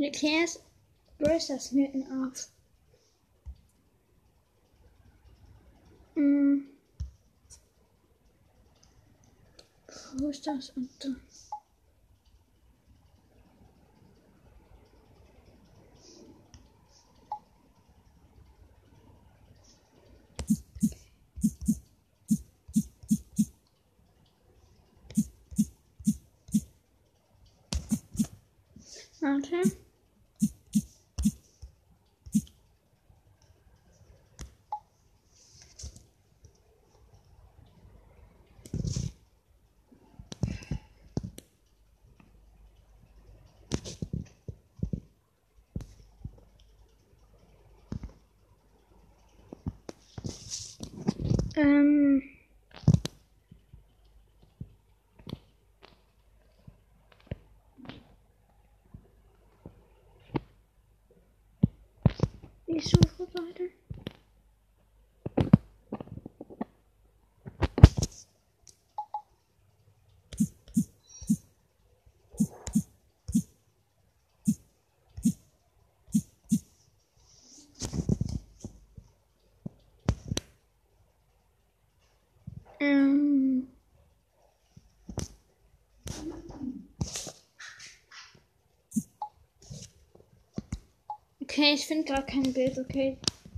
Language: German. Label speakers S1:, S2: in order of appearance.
S1: Erklär's Brösers Mythen auf. Wo ist das? Und da. Warte. Ich suche weiter. Okay, ich finde gerade kein Bild, okay.